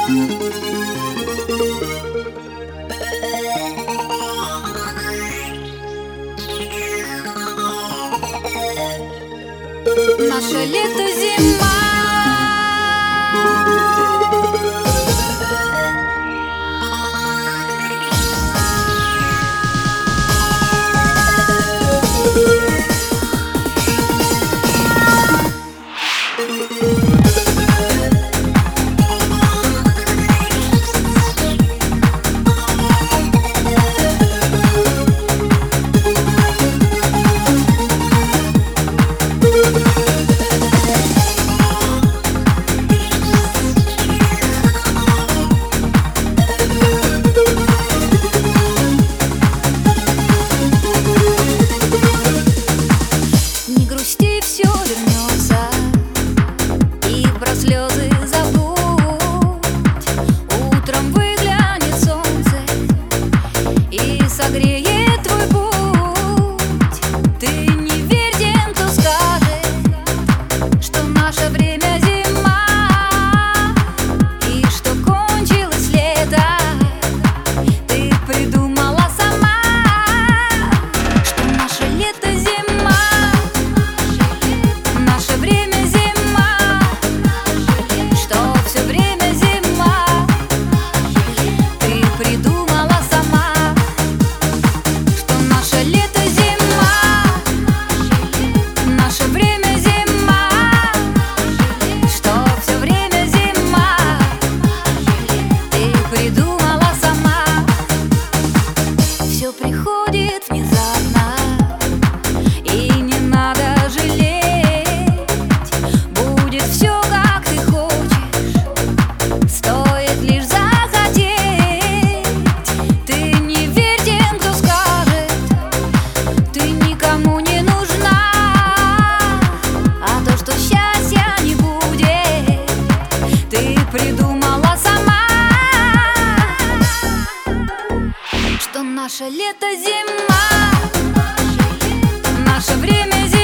Наше лето, зима. Не грусти, все вернется, и про слезы забудь. Утром выглянет солнце и согреет твой путь. Ты не верь тем, кто скажет, что наше время зима, и что кончилось лето. Ты придумала сама, что наше лето зима. Наше время зима, что все время зима. Ты придумала сама, что наше лето зима. Наше время зима, что все время зима. Ты придумала сама. Все приходит внезапно, и не надо жалеть. Будет все, как ты хочешь, стоит лишь захотеть. Ты не верь тем, кто скажет, ты никому не нужна. А то, что счастья не будет, ты придумала сама. Что наше лето зима, наше время зима.